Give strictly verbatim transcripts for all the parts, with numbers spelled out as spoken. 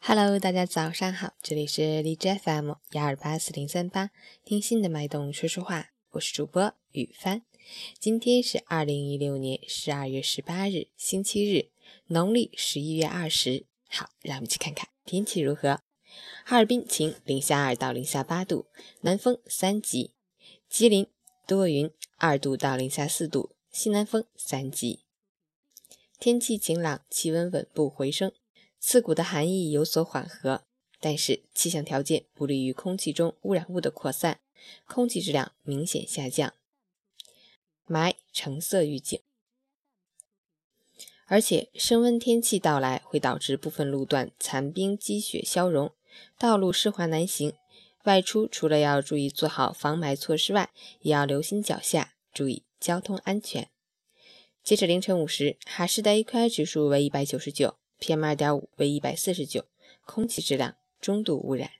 Hello， 大家早上好，这里是荔枝 F M 一二八四零三八，听心的脉动说说话，我是主播雨帆。今天是二零一六年十二月十八日，星期日，农历十一月二十。好，让我们去看看天气如何。哈尔滨晴，零下二到零下八度，南风三级；吉林多云，二度到零下四度，西南风三级。天气晴朗，气温稳步回升。刺骨的寒意有所缓和，但是气象条件不利于空气中污染物的扩散，空气质量明显下降，霾橙色预警。而且升温天气到来会导致部分路段残冰积雪消融，道路湿滑难行。外出除了要注意做好防霾措施外，也要留心脚下，注意交通安全。截止凌晨五时，哈市的 A Q I 指数为一百九十九。P M 二点五 为一百四十九，空气质量中度污染。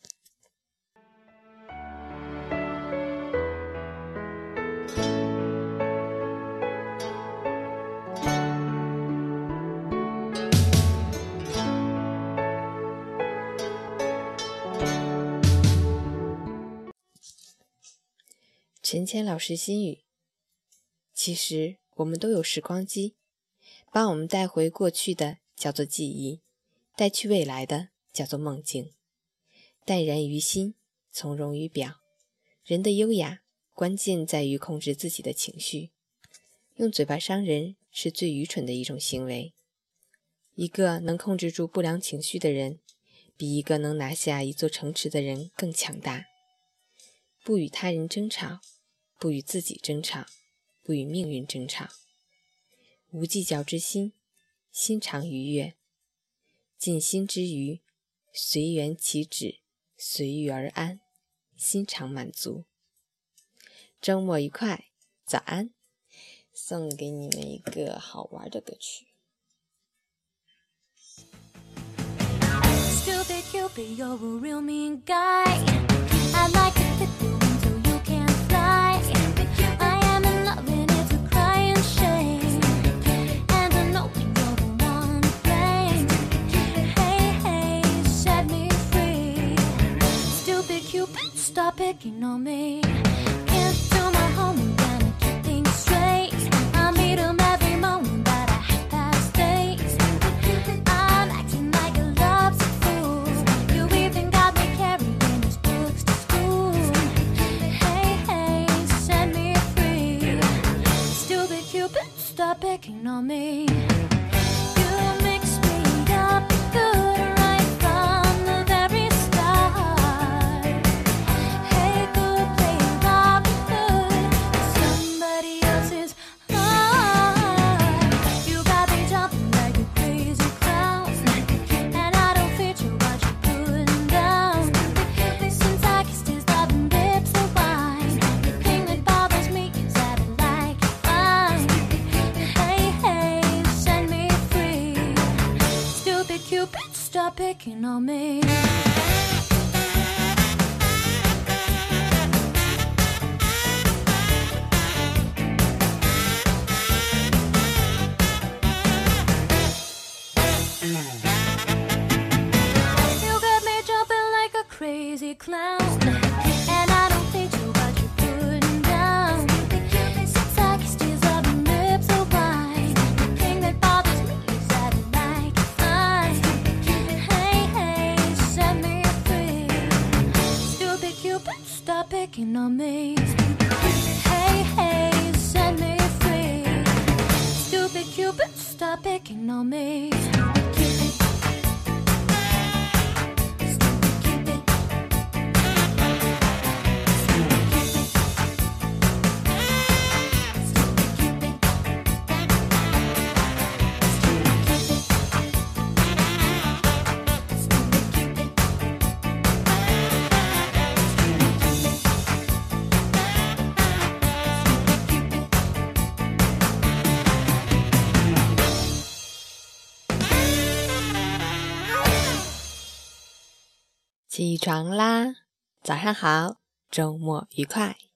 陈谦老师心语：其实我们都有时光机，把我们带回过去的叫做记忆，带去未来的叫做梦境。淡然于心，从容于表。人的优雅关键在于控制自己的情绪，用嘴巴伤人是最愚蠢的一种行为。一个能控制住不良情绪的人，比一个能拿下一座城池的人更强大。不与他人争吵，不与自己争吵，不与命运争吵。无计较之心，心常愉悦。尽心之余，随缘其止，随遇而安，心常满足。周末愉快，早安。送给你们一个好玩的歌曲。 Stupid Cupid, you're a real mean guy. I'd like to fit you until you can't fly. I am in love and it's a crying shame. And I know you're the one to blame. Hey, hey, set me free. Stupid Cupid, stop picking on me. Can't do my homework, gotta keep things straight. I meet 'em every morning, but I half past eight. I'm acting like a lovesick fool. You even got me carrying these books to school. Hey, hey, set me free. Stupid Cupid, stop picking on me. You mix me up good right from the very start. Hey, good, play Robin Hood, somebody else's heart. You got me jumping like a crazy clown, and I don't fit you what you're putting down. Since I kissed his loving lips of wine, the thing that bothers me is that I like it fine. Hey, hey, set me free. Stupid Cupid, stop picking on me. You got me jumping like a crazy clown, and I don't think you what you're putting down. Since I kissed his loving lips of wine, the thing that bothers me is that I like it fine. Hey, hey, set me free. Stupid Cupid, stop picking on me. Hey, hey, set me free. Stupid Cupid, stop picking on me. Cupid. 起床啦，早上好，周末愉快。